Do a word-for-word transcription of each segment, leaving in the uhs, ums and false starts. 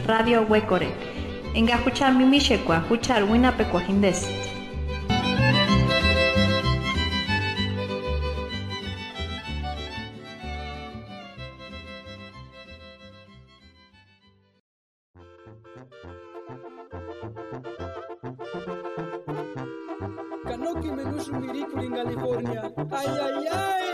Radio Huecore. Enga huchar mimishekwa, huchar winapekwa hindesit. Kanoki menushu mirikuli en California. Ay, ay, ay.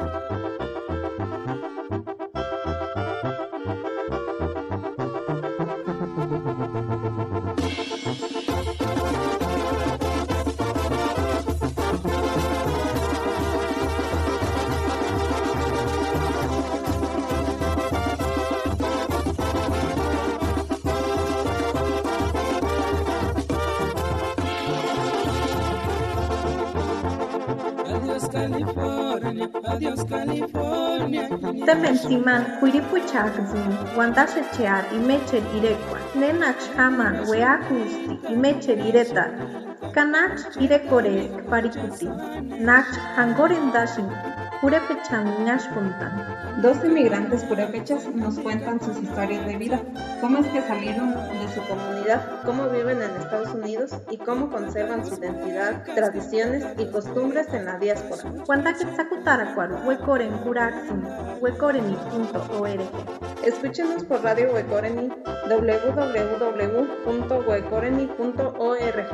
California, adiós California. Temen siman huiripuchakzin, wandashechear y mecher irekwa. Nenach haman weakusti y mecher ireta. Kanach irekores parikuti. Nach hangoren dashin. Purepechan ñashpuntan. Dos inmigrantes purépechas nos cuentan sus historias de vida, cómo es que salieron de su comunidad, cómo viven en Estados Unidos y cómo conservan su identidad, tradiciones y costumbres en la diáspora. Huantaquetzacutaracuaro, huecoren curaxin, huecoreni punto org. Escúchenos por Radio Huecoreni, w w w punto huecoreni punto org.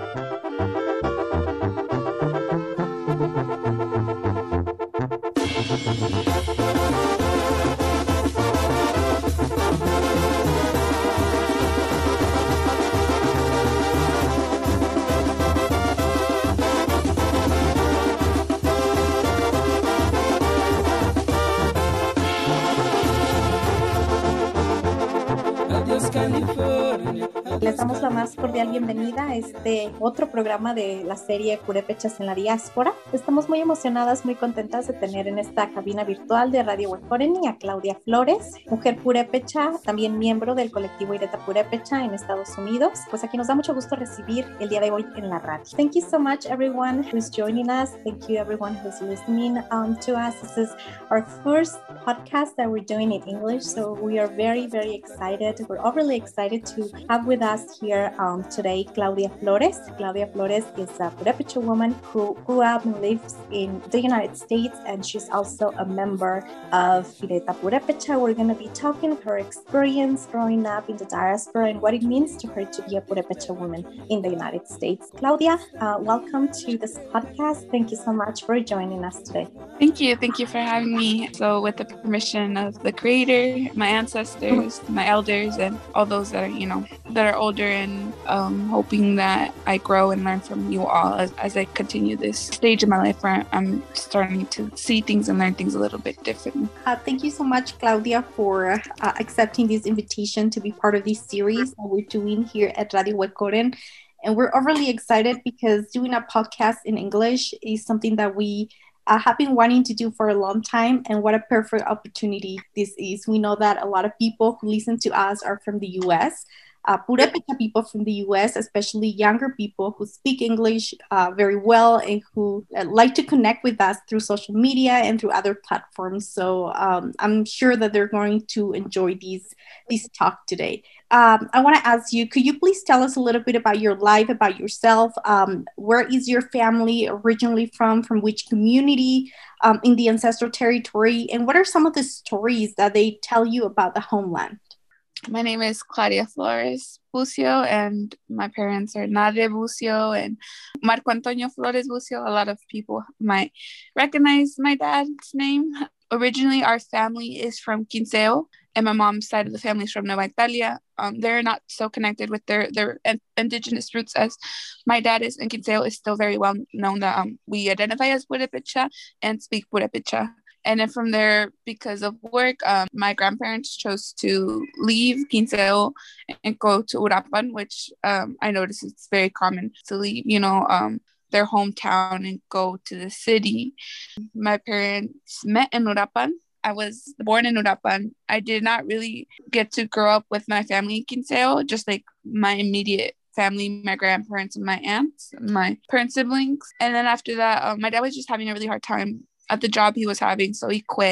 Les damos la más cordial bienvenida a este otro programa de la serie Purépechas en la Diáspora. Estamos muy emocionadas, muy contentas de tener en esta cabina virtual de Radio Huecoreni a Claudia Flores, mujer purépecha, también miembro del colectivo Ireta Purépecha en Estados Unidos. Pues aquí nos da mucho gusto recibir el día de hoy en la radio. Thank you so much everyone who's joining us. Thank you everyone who's listening um, to us. This is our first podcast that we're doing in English, so we are very, very excited. We're overly excited to have with us here um, today Claudia Flores. Claudia Flores is a Purépecha woman who grew up and lives in the United States, and she's also a member of Ireta Purépecha. We're going to be talking her experience growing up in the diaspora and what it means to her to be a Purépecha woman in the United States. Claudia, uh, welcome to this podcast. Thank you so much for joining us today. Thank you. Thank you for having me. So with the permission of the creator, my ancestors, my elders, and all those that are, you know, that are older, and um, hoping that I grow and learn from you all as, as I continue this stage of my life where I'm starting to see things and learn things a little bit differently. Uh, thank you so much, Claudia, for uh, accepting this invitation to be part of this series that we're doing here at Radio Huecoren. And we're overly excited because doing a podcast in English is something that we uh, have been wanting to do for a long time. And what a perfect opportunity this is. We know that a lot of people who listen to us are from the U S, Uh, Purépecha people from the U S, especially younger people who speak English uh, very well and who uh, like to connect with us through social media and through other platforms. So um, I'm sure that they're going to enjoy these, this talk today. Um, I want to ask you, could you please tell us a little bit about your life, about yourself? Um, where is your family originally from? From which community um, in the ancestral territory? And what are some of the stories that they tell you about the homeland? My name is Claudia Flores Bucio, and my parents are Nadia Bucio and Marco Antonio Flores Bucio. A lot of people might recognize my dad's name. Originally, our family is from Quinceo, and my mom's side of the family is from Nueva Italia. Um, they're not so connected with their, their indigenous roots as my dad is, and Quinceo is still very well known that um, we identify as Purépecha and speak Purépecha. And then from there, because of work, um, my grandparents chose to leave Quinceo and go to Uruapan, which um, I notice it's very common to leave, you know, um, their hometown and go to the city. My parents met in Uruapan. I was born in Uruapan. I did not really get to grow up with my family in Quinceo, just like my immediate family, my grandparents and my aunts, my parents' siblings. And then after that, um, my dad was just having a really hard time at the job he was having, so he quit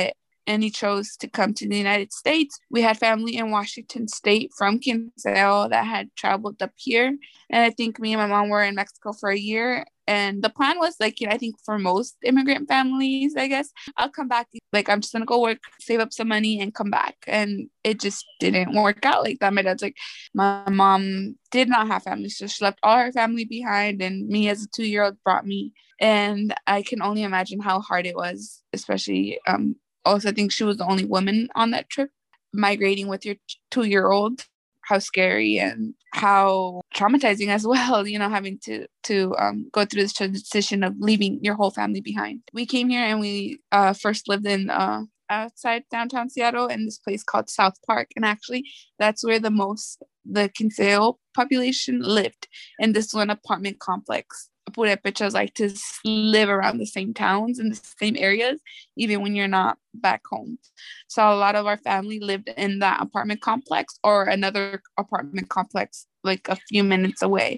and he chose to come to the United States. We had family in Washington State from Quinceo that had traveled up here. And I think me and my mom were in Mexico for a year. And the plan was like, you know, I think for most immigrant families, I guess, I'll come back. Like, I'm just going to go work, save up some money and come back. And it just didn't work out like that. My dad's like, my mom did not have family. So she left all her family behind. And me as a two-year-old brought me. And I can only imagine how hard it was, especially um, also I think she was the only woman on that trip. Migrating with your two-year-old, how scary and how traumatizing as well, you know, having to to um, go through this transition of leaving your whole family behind. We came here and we uh, first lived in uh, outside downtown Seattle in this place called South Park. And actually, that's where the most, the Quinceo population lived, in this one apartment complex. Purépechas like to live around the same towns and the same areas, even when you're not back home. So a lot of our family lived in that apartment complex or another apartment complex like a few minutes away.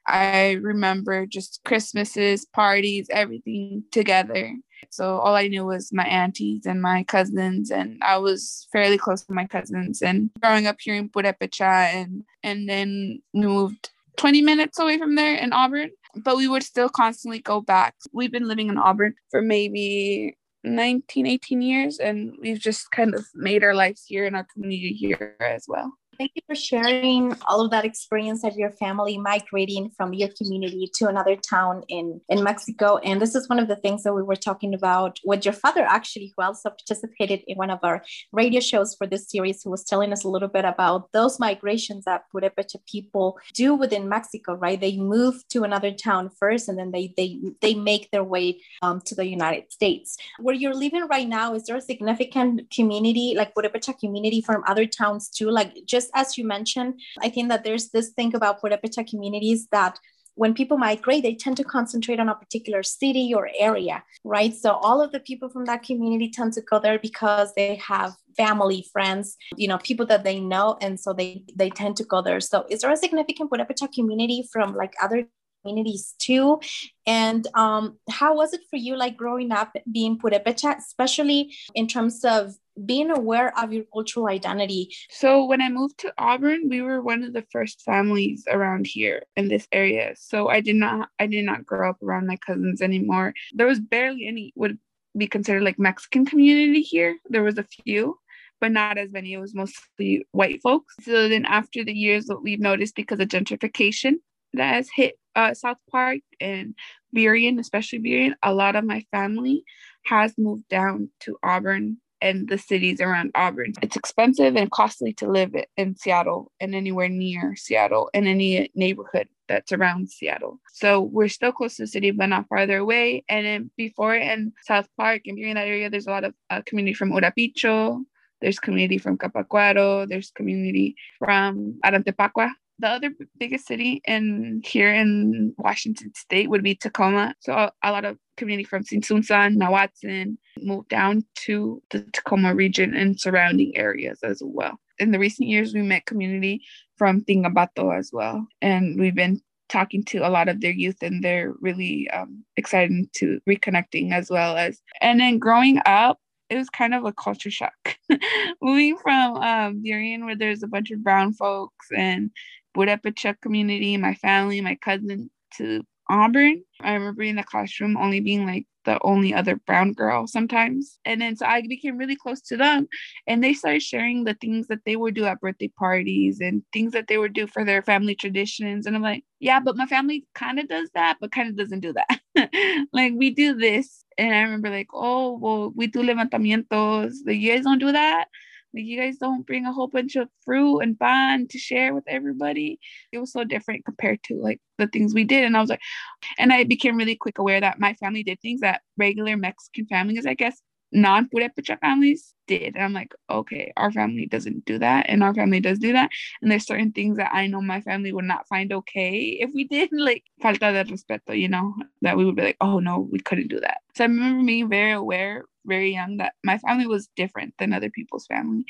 I remember just Christmases, parties, everything together. So all I knew was my aunties and my cousins, and I was fairly close to my cousins. And growing up here in Purépecha, and and then we moved twenty minutes away from there in Auburn, but we would still constantly go back. We've been living in Auburn for maybe nineteen, eighteen years, and we've just kind of made our lives here in our community here as well. Thank you for sharing all of that experience of your family migrating from your community to another town in, in Mexico. And this is one of the things that we were talking about with your father, actually, who also participated in one of our radio shows for this series, who was telling us a little bit about those migrations that Purépecha people do within Mexico, right? They move to another town first, and then they they they make their way um, to the United States. Where you're living right now, is there a significant community, like Purépecha community from other towns too? Like, just as you mentioned, I think that there's this thing about Purépecha communities that when people migrate, they tend to concentrate on a particular city or area, right? So all of the people from that community tend to go there because they have family, friends, you know, people that they know. And so they, they tend to go there. So is there a significant Purépecha community from like other communities too? And um, how was it for you, like growing up being Purépecha, especially in terms of being aware of your cultural identity? So when I moved to Auburn, we were one of the first families around here in this area. So I did not, I did not grow up around my cousins anymore. There was barely any would be considered like Mexican community here. There was a few, but not as many. It was mostly white folks. So then after the years, what we've noticed because of gentrification that has hit uh, South Park and Burien, especially Burien, a lot of my family has moved down to Auburn and the cities around Auburn. It's expensive and costly to live in Seattle and anywhere near Seattle and any neighborhood that's around Seattle. So we're still close to the city, but not farther away. And then before in South Park and Burien, that area, there's a lot of uh, community from Urapicho. There's community from Capacuaro. There's community from Arantepacua. The other biggest city in here in Washington State would be Tacoma. So a, a lot of community from Sinsunsan, Nahuatzin moved down to the Tacoma region and surrounding areas as well. In the recent years, we met community from Tingabato as well. And we've been talking to a lot of their youth, and they're really um, excited to reconnecting as well as. And then growing up, it was kind of a culture shock. Moving from um, Burien, where there's a bunch of brown folks and Purépecha community, my family, my cousin, to Auburn. I remember in the classroom only being like the only other brown girl sometimes. And then so I became really close to them, and they started sharing the things that they would do at birthday parties and things that they would do for their family traditions. And I'm like, yeah, but my family kind of does that, but kind of doesn't do that. Like, we do this. And I remember like, oh, well, we do levantamientos. Like, you guys don't do that? Like, you guys don't bring a whole bunch of fruit and pan to share with everybody? It was so different compared to like the things we did. And I was like, and I became really quick aware that my family did things that regular Mexican families, I guess, non-Purépecha families did. And I'm like, okay, our family doesn't do that, and our family does do that. And there's certain things that I know my family would not find okay if we did, like falta de respeto, you know, that we would be like, oh no, we couldn't do that. So I remember being very aware, very young, that my family was different than other people's family.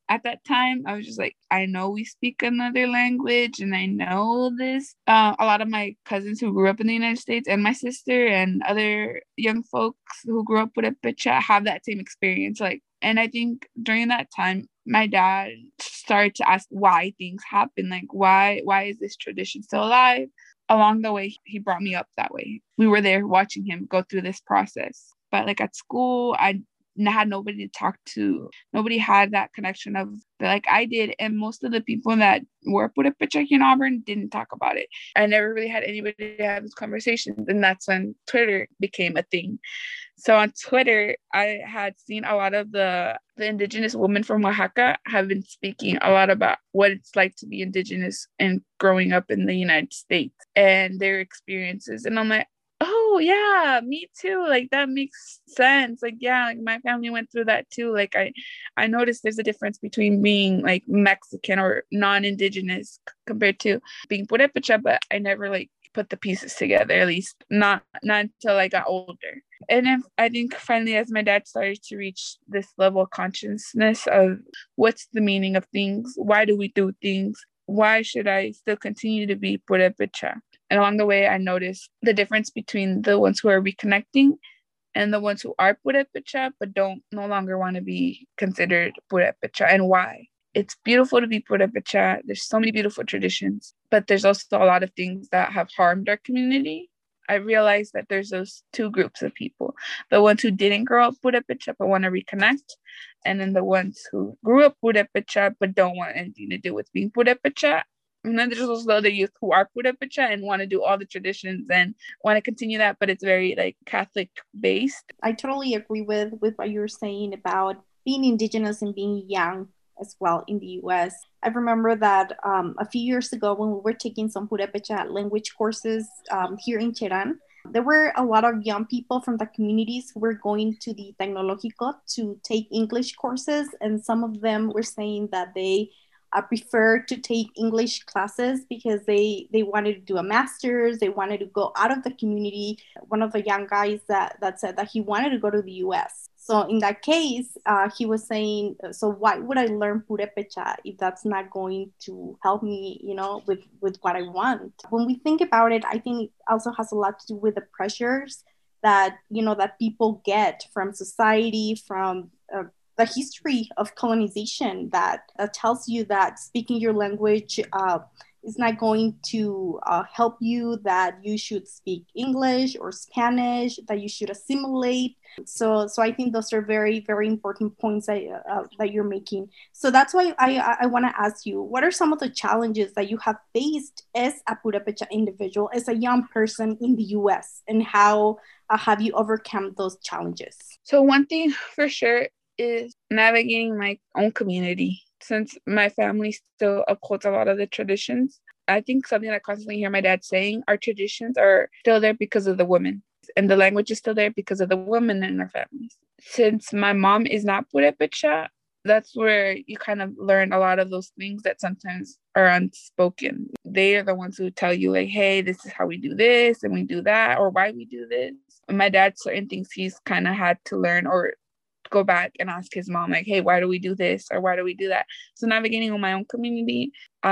at that time, I was just like, I know we speak another language and I know this. Uh, a lot of my cousins who grew up in the United States and my sister and other young folks who grew up with Purépecha have that same experience. Like, and I think during that time, my dad started to ask why things happen. Like, why, why is this tradition still alive? Along the way, he brought me up that way. We were there watching him go through this process. But like at school, I had nobody to talk to. Nobody had that connection of like I did. And most of the people that were Purépecha in Auburn didn't talk about it. I never really had anybody to have this conversation. And that's when Twitter became a thing. So on Twitter, I had seen a lot of the, the indigenous women from Oaxaca have been speaking a lot about what it's like to be indigenous and growing up in the United States and their experiences. And I'm like, oh yeah, me too. Like that makes sense. Like, yeah, like my family went through that too. Like I, I noticed there's a difference between being like Mexican or non-indigenous compared to being Purépecha, but I never like put the pieces together, at least not not until I got older. And if, I think finally as my dad started to reach this level of consciousness of what's the meaning of things, why do we do things, why should I still continue to be Purépecha? And along the way I noticed the difference between the ones who are reconnecting and the ones who are Purépecha but don't no longer want to be considered Purépecha, and why. It's beautiful to be Purépecha. There's so many beautiful traditions, but there's also a lot of things that have harmed our community. I realized that there's those two groups of people, the ones who didn't grow up Purépecha but want to reconnect, and then the ones who grew up Purépecha but don't want anything to do with being Purépecha. And then there's also the other youth who are Purépecha and want to do all the traditions and want to continue that, but it's very like Catholic based. I totally agree with, with what you're saying about being indigenous and being young as well in the U S. I remember that um, a few years ago when we were taking some Purépecha language courses um, here in Cherán, there were a lot of young people from the communities who were going to the Tecnológico to take English courses, and some of them were saying that they uh, preferred to take English classes because they, they wanted to do a master's, they wanted to go out of the community. One of the young guys that, that said that he wanted to go to the U S. So in that case, uh, he was saying, so why would I learn Purépecha if that's not going to help me, you know, with, with what I want? When we think about it, I think it also has a lot to do with the pressures that, you know, that people get from society, from uh, the history of colonization that, that tells you that speaking your language uh, is not going to uh, help you, that you should speak English or Spanish, that you should assimilate. So so I think those are very, very important points that, uh, that you're making. So that's why I, I, I want to ask you, what are some of the challenges that you have faced as a Purépecha individual, as a young person in the U S, and how uh, have you overcome those challenges? So one thing for sure is navigating my own community. Since my family still upholds a lot of the traditions, I think something I constantly hear my dad saying, our traditions are still there because of the women. And the language is still there because of the women in our families. Since my mom is not Purépecha, that's where you kind of learn a lot of those things that sometimes are unspoken. They are the ones who tell you like, hey, this is how we do this and we do that, or why we do this. And my dad, certain things he's kind of had to learn or go back and ask his mom like, hey, why do we do this or why do we do that? So navigating on my own community,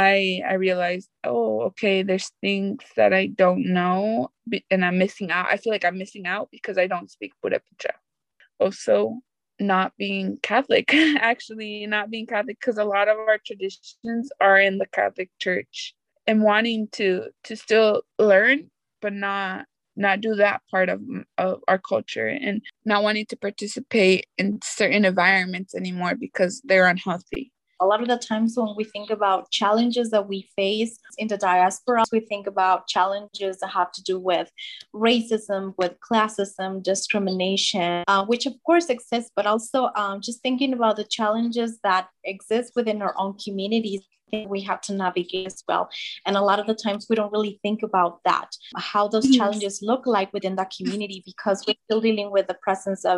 I I realized, oh, okay, there's things that I don't know and I'm missing out. I feel like I'm missing out because I don't speak Purépecha. Also, not being Catholic, actually not being Catholic, because a lot of our traditions are in the Catholic Church, and wanting to to still learn but not not do that part of, of our culture, and not wanting to participate in certain environments anymore because they're unhealthy. A lot of the times when we think about challenges that we face in the diaspora, we think about challenges that have to do with racism, with classism, discrimination, uh, which of course exists, but also um, just thinking about the challenges that exist within our own communities. We have to navigate as well. And a lot of the times we don't really think about that, how those challenges look like within that community, because we're still dealing with the presence of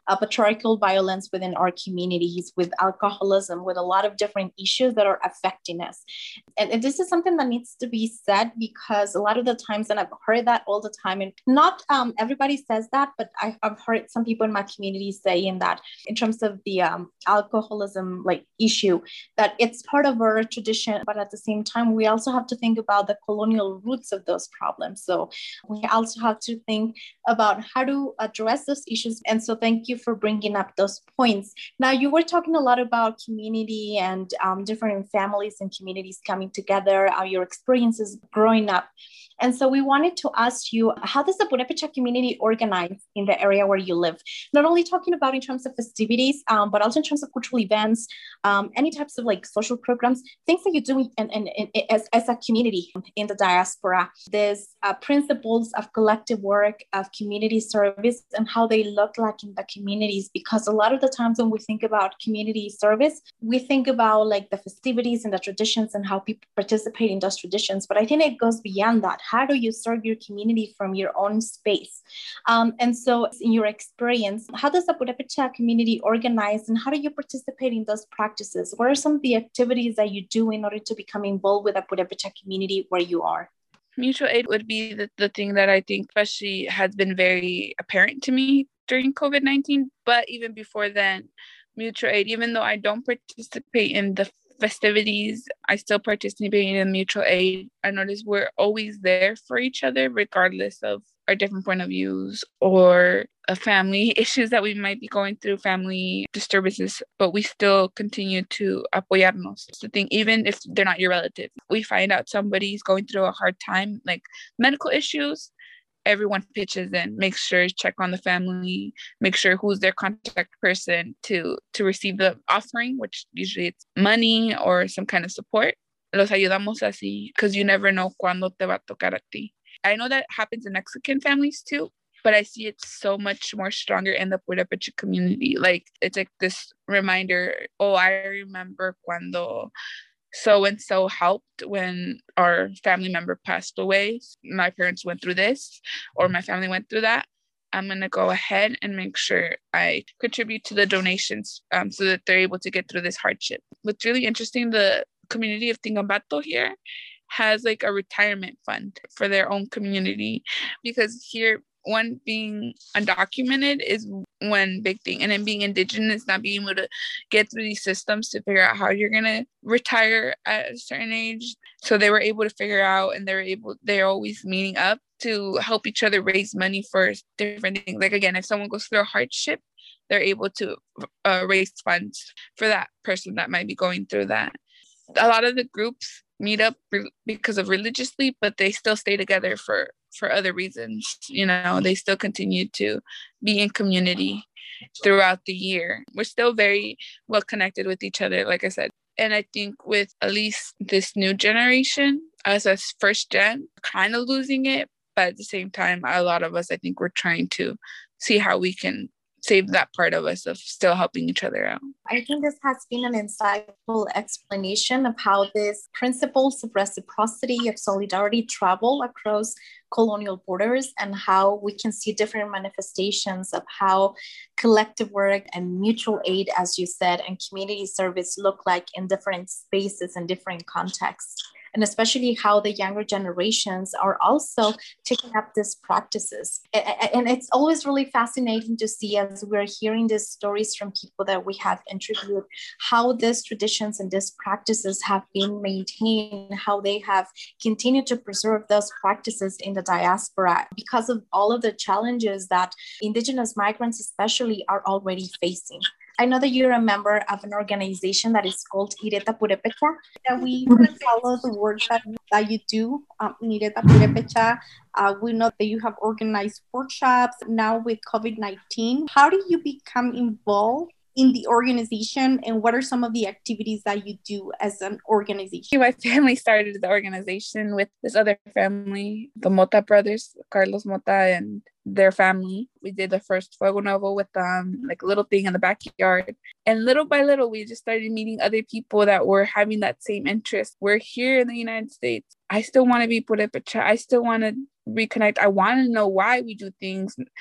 uh, patriarchal violence within our communities, with alcoholism, with a lot of different issues that are affecting us. And, and this is something that needs to be said, because a lot of the times, and I've heard that all the time, and not um, everybody says that, but I, I've heard some people in my community saying that in terms of the um, alcoholism like issue, that it's part of our tradition, but at the same time, we also have to think about the colonial roots of those problems. So we also have to think about how to address those issues. And so thank you for bringing up those points. Now, you were talking a lot about community and um, different families and communities coming together, uh, your experiences growing up. And so we wanted to ask you, how does the Purepecha community organize in the area where you live? Not only talking about in terms of festivities, um, but also in terms of cultural events, um, any types of like social programs, things that you do in, in, in, in, as, as a community in the diaspora. There's uh, principles of collective work, of community service, and how they look like in the communities. Because a lot of the times when we think about community service, we think about like the festivities and the traditions and how people participate in those traditions. But I think it goes beyond that. How do you serve your community from your own space? Um, and so in your experience, how does the Purepecha community organize, and how do you participate in those practices? What are some of the activities that you do in order to become involved with the Purepecha community where you are? Mutual aid would be the, the thing that I think especially has been very apparent to me during COVID nineteen. But even before then, mutual aid, even though I don't participate in the festivities, I still participate in mutual aid. I notice we're always there for each other, regardless of our different point of views or a family issues that we might be going through, family disturbances, but we still continue to apoyarnos. It's the thing, even if they're not your relative. We find out somebody's going through a hard time, like medical issues, everyone pitches in, make sure check on the family, make sure who's their contact person to to receive the offering, which usually it's money or some kind of support. Los ayudamos así, because you never know cuándo te va a tocar a ti. I know that happens in Mexican families too, but I see it so much more stronger in the Purepecha community. Like, it's like this reminder, oh, I remember cuando so-and-so helped when our family member passed away. My parents went through this, or my family went through that. I'm going to go ahead and make sure I contribute to the donations um, so that they're able to get through this hardship. What's really interesting, the community of Tingambato here has like a retirement fund for their own community, because here, one, being undocumented is one big thing, and then being indigenous, not being able to get through these systems to figure out how you're gonna retire at a certain age. So they were able to figure out, and they're able they're always meeting up to help each other raise money for different things. Like, again, if someone goes through a hardship, they're able to uh, raise funds for that person that might be going through that. A lot of the groups meet up re- because of religiously, but they still stay together for for other reasons. You know, they still continue to be in community throughout the year. We're still very well connected with each other, like I said. And I think with at least this new generation, us as first gen, kind of losing it, but at the same time, a lot of us, I think we're trying to see how we can save that part of us of still helping each other out. I think this has been an insightful explanation of how these principles of reciprocity, of solidarity travel across colonial borders, and how we can see different manifestations of how collective work and mutual aid, as you said, and community service look like in different spaces and different contexts. And especially how the younger generations are also taking up these practices. And it's always really fascinating to see, as we're hearing these stories from people that we have interviewed, how these traditions and these practices have been maintained, how they have continued to preserve those practices in the diaspora because of all of the challenges that Indigenous migrants especially are already facing. I know that you're a member of an organization that is called Ireta Purepecha. That we follow the work that, that you do, um, Ireta Purepecha. Uh, we know that you have organized workshops now with COVID nineteen. How do you become involved in the organization, and what are some of the activities that you do as an organization? My family started the organization with this other family, the Mota brothers, Carlos Mota and their family. We did the first Fuego Nuevo with them, like a little thing in the backyard. And little by little, we just started meeting other people that were having that same interest. We're here in the United States. I still want to be Purepecha. I still want to reconnect. I want to know why we do things.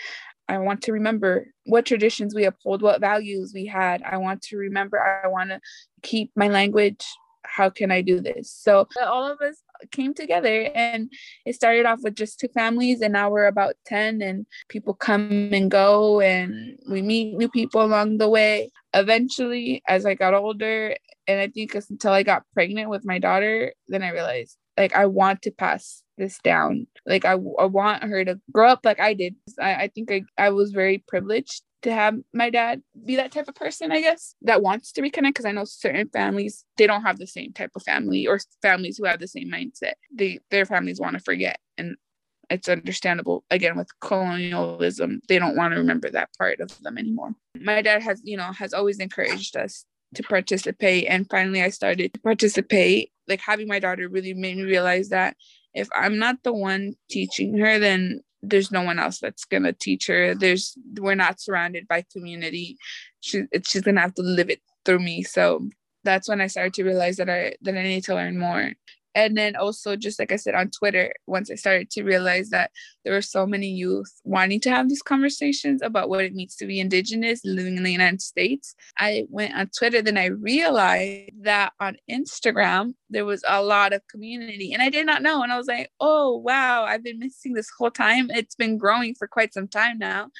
I want to remember what traditions we uphold, what values we had. I want to remember, I want to keep my language. How can I do this? So all of us came together, and it started off with just two families, and now we're about ten, and people come and go, and we meet new people along the way. Eventually, as I got older, and I think until I got pregnant with my daughter, then I realized, like, I want to pass this down. Like, I, I want her to grow up like I did. I, I think I, I was very privileged to have my dad be that type of person, I guess, that wants to reconnect, because I know certain families, they don't have the same type of family, or families who have the same mindset. They their families want to forget, and it's understandable. Again, with colonialism, they don't want to remember that part of them anymore. My dad has, you know, has always encouraged us to participate, and finally I started to participate. Like, having my daughter really made me realize that if I'm not the one teaching her, then there's no one else that's gonna teach her. There's we're not surrounded by community. She it's, she's gonna have to live it through me. So that's when I started to realize that I that I need to learn more. And then also, just like I said, on Twitter, once I started to realize that there were so many youth wanting to have these conversations about what it means to be Indigenous living in the United States, I went on Twitter. Then I realized that on Instagram, there was a lot of community, and I did not know. And I was like, oh, wow, I've been missing this whole time. It's been growing for quite some time now.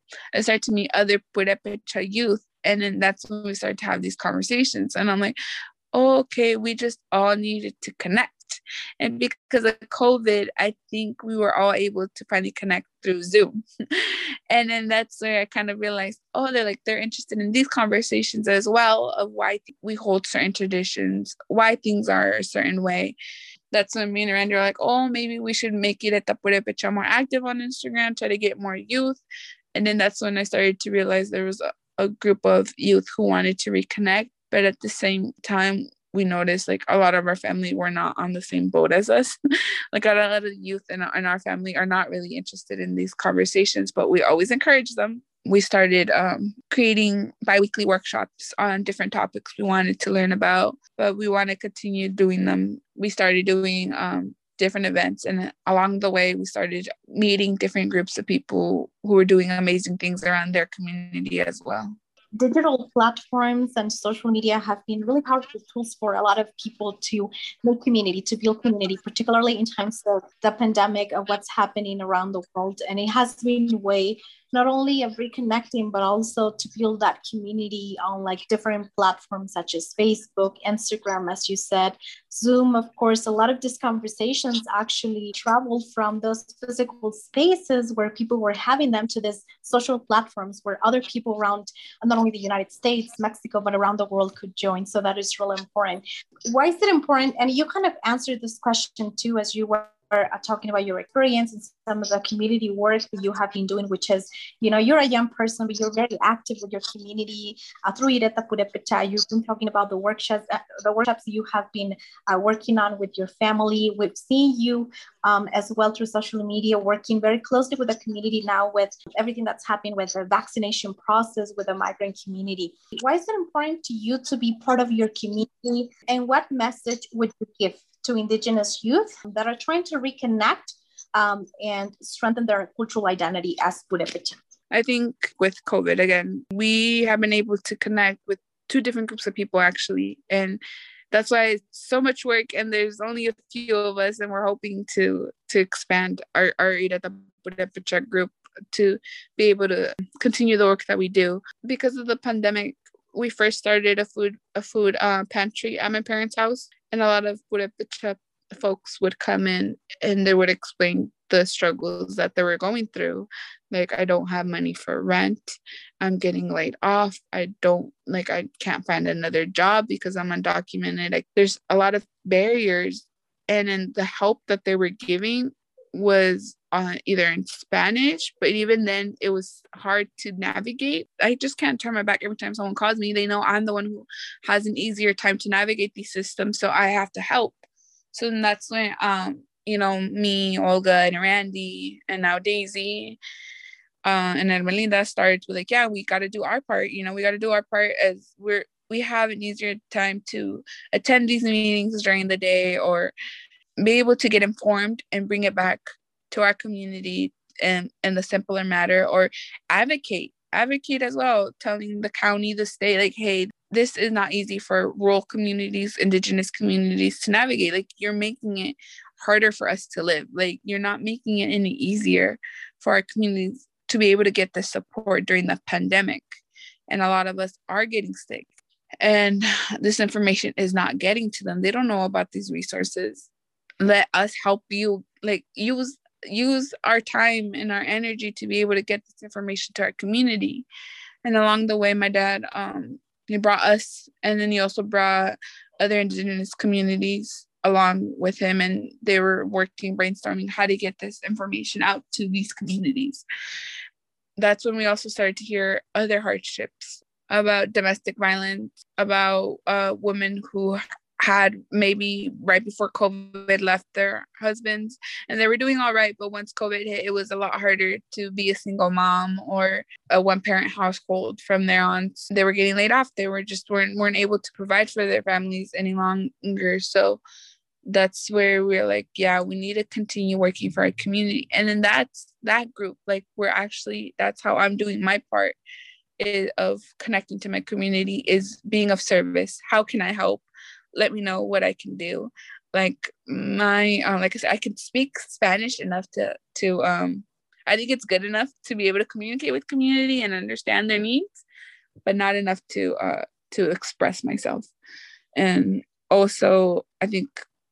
I started to meet other Purepecha youth. And then that's when we started to have these conversations. And I'm like, oh, okay, we just all needed to connect. And because of COVID, I think we were all able to finally connect through Zoom. And then that's where I kind of realized, oh, they're like, they're interested in these conversations as well, of why we hold certain traditions, why things are a certain way. That's when me and Randy are like, oh, maybe we should make it at the Purepecha more active on Instagram, try to get more youth. And then that's when I started to realize there was a, a group of youth who wanted to reconnect. But at the same time, we noticed like a lot of our family were not on the same boat as us. Like, a lot of the youth in our, in our family are not really interested in these conversations, but we always encourage them. We started um, creating bi-weekly workshops on different topics we wanted to learn about, but we want to continue doing them. We started doing um, different events, and along the way, we started meeting different groups of people who were doing amazing things around their community as well. Digital platforms and social media have been really powerful tools for a lot of people to make community, to build community, particularly in times of the pandemic, of what's happening around the world. And it has been a way not only of reconnecting, but also to build that community on like different platforms such as Facebook, Instagram, as you said, Zoom. Of course, a lot of these conversations actually traveled from those physical spaces where people were having them to these social platforms where other people around not only the United States, Mexico, but around the world could join. So that is really important. Why is it important? And you kind of answered this question too, as you were uh, talking about your experience and some of the community work that you have been doing, which is, you know, you're a young person, but you're very active with your community uh, through Ireta Purepecha. You've been talking about the workshops, uh, the workshops you have been uh, working on with your family. We've seen you um, as well through social media, working very closely with the community now with everything that's happening with the vaccination process with the migrant community. Why is it important to you to be part of your community? And what message would you give to Indigenous youth that are trying to reconnect um, and strengthen their cultural identity as Purepecha? I think with COVID, again, we have been able to connect with two different groups of people, actually. And that's why it's so much work, and there's only a few of us, and we're hoping to to expand our, our Ireta Purepecha group to be able to continue the work that we do. Because of the pandemic, we first started a food a food uh, pantry at my parents' house, and a lot of Purepecha folks would come in and they would explain the struggles that they were going through. Like, I don't have money for rent. I'm getting laid off. I don't, like, I can't find another job because I'm undocumented. Like, there's a lot of barriers. And then the help that they were giving was uh, either in Spanish, but even then it was hard to navigate. I just can't turn my back every time someone calls me. They know I'm the one who has an easier time to navigate these systems, so I have to help. So then that's when, um, you know, me, Olga, and Randy, and now Daisy, uh, and then Melinda started to like, yeah, we got to do our part. You know, we got to do our part as we're we have an easier time to attend these meetings during the day or be able to get informed and bring it back to our community in, in a simpler matter, or advocate, advocate as well, telling the county, the state, like, hey, this is not easy for rural communities, indigenous communities to navigate. Like, you're making it harder for us to live. Like, you're not making it any easier for our communities to be able to get the support during the pandemic. And a lot of us are getting sick. And this information is not getting to them. They don't know about these resources. Let us help you, like, use use our time and our energy to be able to get this information to our community. And along the way, my dad, um, he brought us, and then he also brought other indigenous communities along with him, and they were working, brainstorming how to get this information out to these communities. That's when we also started to hear other hardships about domestic violence, about uh, women who had maybe right before COVID left their husbands and they were doing all right. But once COVID hit, it was a lot harder to be a single mom or a one parent household from there on. They were getting laid off. They were just weren't, weren't able to provide for their families any longer. So that's where we're like, yeah, we need to continue working for our community. And then that's that group, like we're actually, that's how I'm doing my part is, of connecting to my community, is being of service. How can I help? Let me know what I can do. Like my, um, like I said, I can speak Spanish enough to, to, um, I think it's good enough to be able to communicate with community and understand their needs, but not enough to, uh, to express myself. And also, I think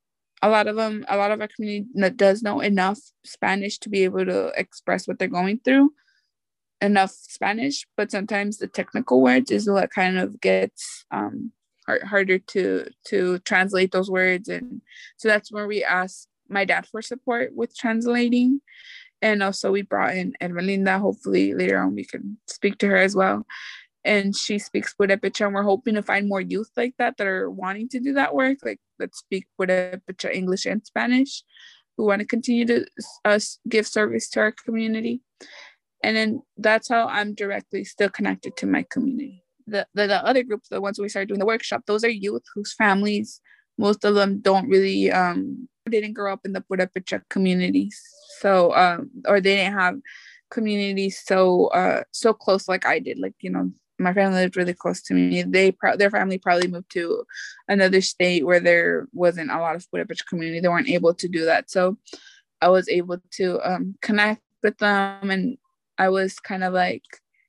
a lot of them, a lot of our community does know enough Spanish to be able to express what they're going through, enough Spanish, but sometimes the technical words is what kind of gets, um, harder to to translate those words. And so that's where we asked my dad for support with translating. And also we brought in Ermelinda. Hopefully later on we can speak to her as well. And she speaks Purepecha, and we're hoping to find more youth like that that are wanting to do that work, like that speak Purepecha, English and Spanish, who want to continue to uh, give service to our community. And then that's how I'm directly still connected to my community. The, the the other groups, the ones we started doing the workshop, those are youth whose families, most of them don't really, um, didn't grow up in the Purepecha communities. So, um, or they didn't have communities so, uh, so close like I did. Like, you know, my family lived really close to me. They, pro- their family probably moved to another state where there wasn't a lot of Purepecha community. They weren't able to do that. So I was able to um, connect with them, and I was kind of like,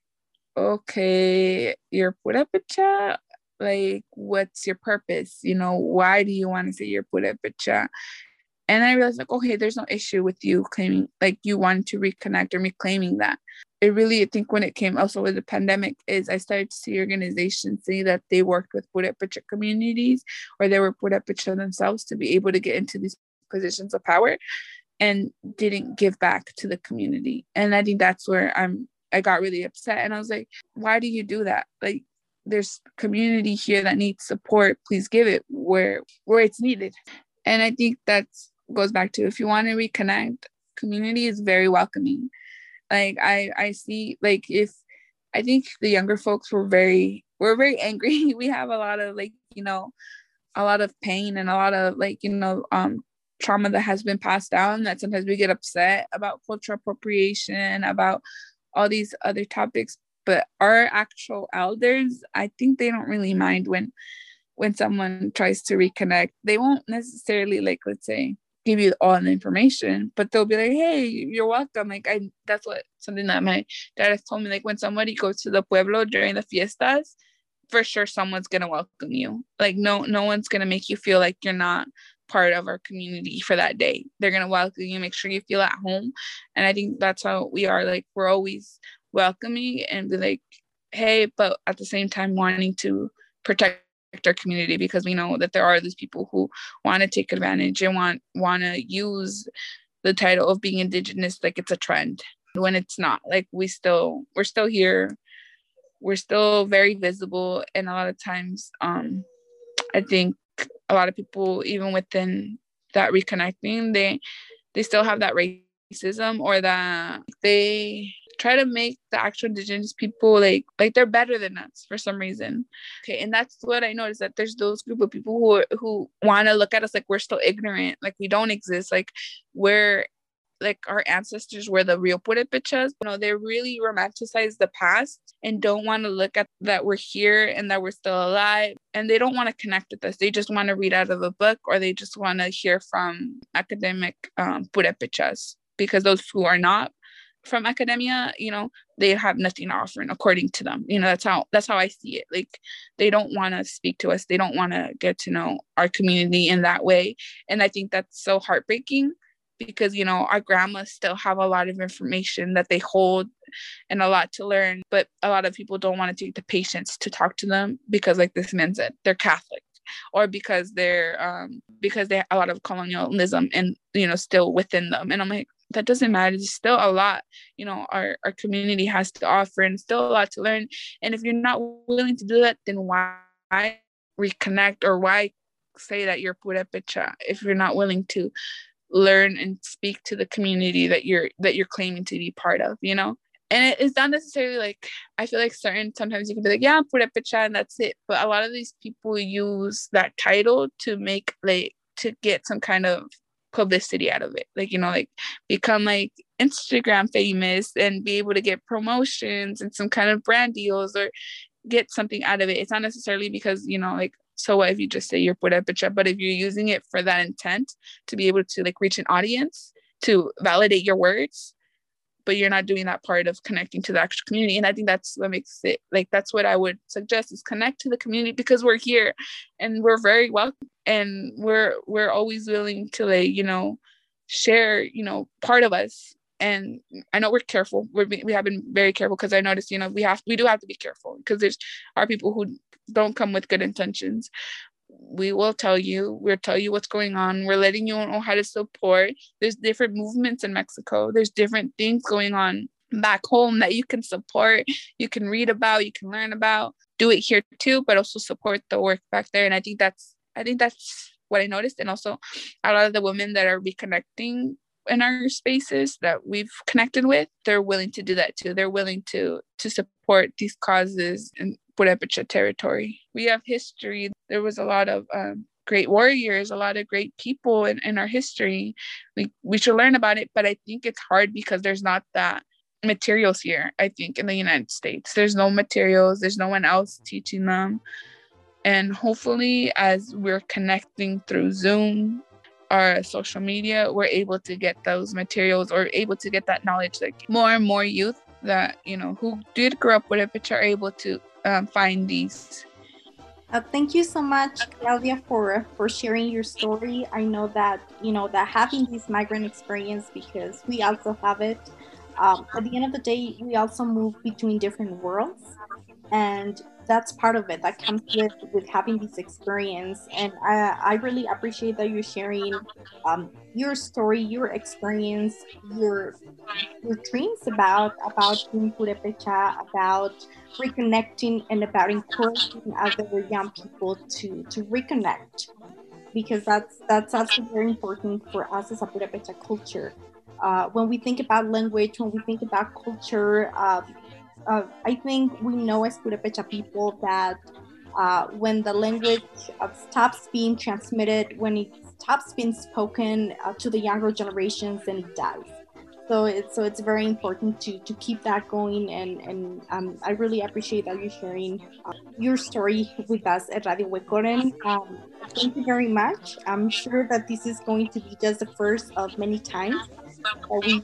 okay, you're Purepecha, like, what's your purpose? You know, why do you want to say you're Purepecha? And I realized, like, okay, there's no issue with you claiming, like, you want to reconnect or reclaiming that. It really, I think when it came also with the pandemic, is I started to see organizations say that they worked with Purepecha communities, or they were Purepecha themselves, to be able to get into these positions of power and didn't give back to the community. And I think that's where I'm I got really upset, and I was like, why do you do that? Like, there's community here that needs support. Please give it where where it's needed. And I think that goes back to, if you want to reconnect, community is very welcoming. Like I I see, like, if I think the younger folks were very we're very angry. We have a lot of, like, you know, a lot of pain and a lot of, like, you know, um trauma that has been passed down, that sometimes we get upset about cultural appropriation, about all these other topics. But our actual elders, I think they don't really mind when when someone tries to reconnect. They won't necessarily, like, let's say, give you all the information, but they'll be like, hey, you're welcome. Like, I that's what something that my dad has told me, like, when somebody goes to the pueblo during the fiestas, for sure someone's gonna welcome you. Like, no no one's gonna make you feel like you're not part of our community for that day. They're gonna welcome you, make sure you feel at home. And I think that's how we are. Like, we're always welcoming and be like, hey, but at the same time wanting to protect our community, because we know that there are these people who want to take advantage and want want to use the title of being Indigenous like it's a trend, when it's not. Like, we still we're still here, we're still very visible. And a lot of times um I think a lot of people, even within that reconnecting, they they still have that racism, or that they try to make the actual Indigenous people like like they're better than us for some reason. Okay, and that's what I noticed, that there's those group of people who are, who want to look at us like we're still ignorant, like we don't exist, like we're like our ancestors were the real purépechas. You know, they really romanticize the past and don't want to look at that we're here and that we're still alive. And they don't want to connect with us. They just want to read out of a book, or they just want to hear from academic um, purépechas, because those who are not from academia, you know, they have nothing to offer, according to them. You know, that's how that's how I see it. Like, they don't want to speak to us. They don't want to get to know our community in that way. And I think that's so heartbreaking, because, you know, our grandmas still have a lot of information that they hold and a lot to learn, but a lot of people don't want to take the patience to talk to them, because, like this man said, they're Catholic, or because they're um because they have a lot of colonialism and, you know, still within them. And I'm like, that doesn't matter. There's still a lot, you know, our, our community has to offer, and still a lot to learn. And if you're not willing to do that, then why reconnect, or why say that you're purépecha if you're not willing to learn and speak to the community that you're that you're claiming to be part of, you know? And it is not necessarily like, I feel like certain, sometimes you can be like, yeah, I'm purépecha and that's it. But a lot of these people use that title to make, like, to get some kind of publicity out of it, like, you know, like become like Instagram famous and be able to get promotions and some kind of brand deals, or get something out of it. It's not necessarily because, you know, like, so what if you just say you're purépecha, but if you're using it for that intent to be able to like reach an audience, to validate your words, but you're not doing that part of connecting to the actual community. And I think that's what makes it, like, that's what I would suggest, is connect to the community, because we're here and we're very welcome, and we're we're always willing to, like, you know, share, you know, part of us. And I know we're careful. We're, we have been very careful, because I noticed, you know, we have we do have to be careful, because there's are people who don't come with good intentions. We will tell you, we'll tell you what's going on. We're letting you know how to support. There's different movements in Mexico. There's different things going on back home that you can support, you can read about, you can learn about. Do it here too, but also support the work back there. And I think that's, I think that's what I noticed. And also a lot of the women that are reconnecting in our spaces that we've connected with, they're willing to do that too. They're willing to to support these causes in Purépecha territory. We have history. There was a lot of um, great warriors, a lot of great people in, in our history. We we should learn about it, but I think it's hard because there's not that materials here. I think in the United States, there's no materials. There's no one else teaching them. And hopefully, as we're connecting through Zoom or social media, we're able to get those materials, or able to get that knowledge. Like more and more youth that, you know, who did grow up with it, are able to um, find these. Uh, thank you so much, Claudia, for for sharing your story. I know that, you know, that having this migrant experience, because we also have it. Um, at the end of the day, we also move between different worlds, and that's part of it that comes with with having this experience. And I, I really appreciate that you're sharing um, your story, your experience, your your dreams about about being Purépecha, about reconnecting, and about encouraging other young people to to reconnect, because that's that's also very important for us as a Purépecha culture. Uh, when we think about language, when we think about culture, uh, uh, I think we know as Purépecha people that uh, when the language uh, stops being transmitted, when it stops being spoken uh, to the younger generations, then it dies. So it's so it's very important to to keep that going, and and um, I really appreciate that you're sharing uh, your story with us at Radio Huecoren. Um, thank you very much. I'm sure that this is going to be just the first of many times that we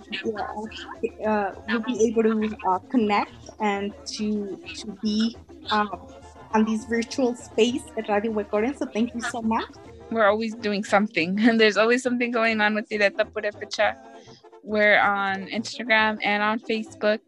uh, uh, will be able to uh, connect and to to be um, on this virtual space at Radio Huecoren. So thank you so much. We're always doing something, and there's always something going on with Directa Purépecha. We're on Instagram and on Facebook.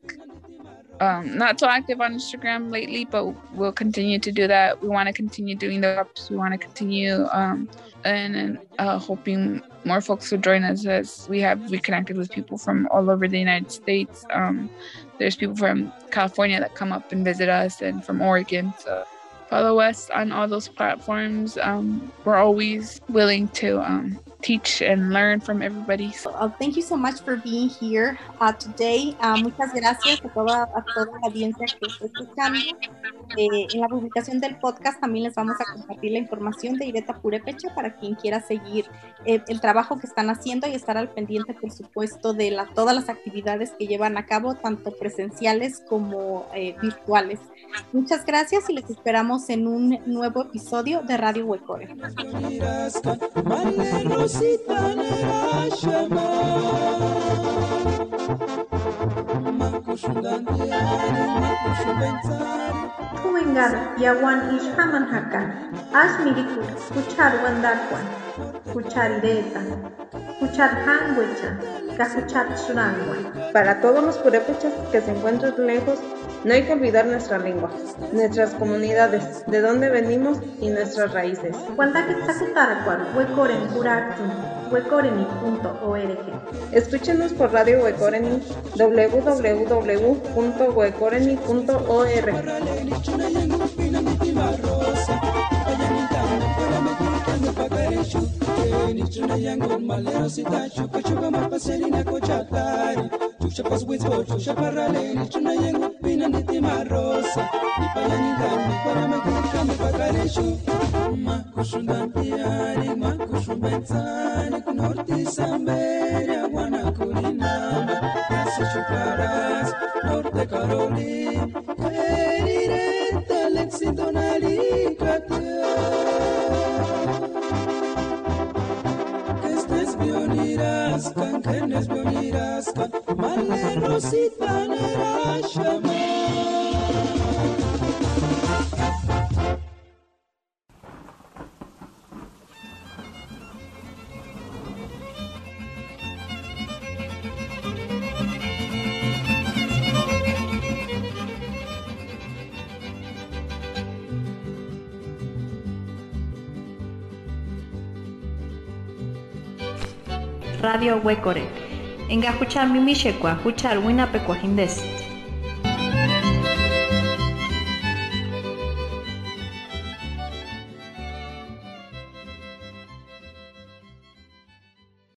Um, not so active on Instagram lately, but we'll continue to do that. We want to continue doing the ups. We want to continue um, and, and uh, hoping more folks will join us, as we have reconnected with people from all over the United States. Um, there's people from California that come up and visit us, and from Oregon. So follow us on all those platforms. Um, we're always willing to um, teach and learn from everybody. So, uh, thank you so much for being here uh, today. Uh, muchas gracias a toda, a toda la audiencia que está escuchando. eh, en la publicación del podcast también les vamos a compartir la información de Ireta Purépecha para quien quiera seguir eh, el trabajo que están haciendo y estar al pendiente, por supuesto, de la, todas las actividades que llevan a cabo, tanto presenciales como eh, virtuales. Muchas gracias y les esperamos en un nuevo episodio de Radio Huecore. Kuengar yawan ishaman hakan, as mirikul, kuchar wandarkwan, kuchar ireta, kuchar hangwecha, kakuchar surangwan. Para todos los purépechas que se encuentran lejos, no hay que olvidar nuestra lengua, nuestras comunidades, de dónde venimos y nuestras raíces. huecoreni punto org. Escúchenos por Radio Huecoreni, doble u doble u doble u punto huecoreni punto org. Norte Samberia, Guanacurinama, Chucaras, Norte Carolina, Erireta, Lexidonali, que estés bioniras, can quenes bioniras, can male rosita nera shama. Radio Huecore. Enga huchar mimishekwa, huchar winapekwajindes.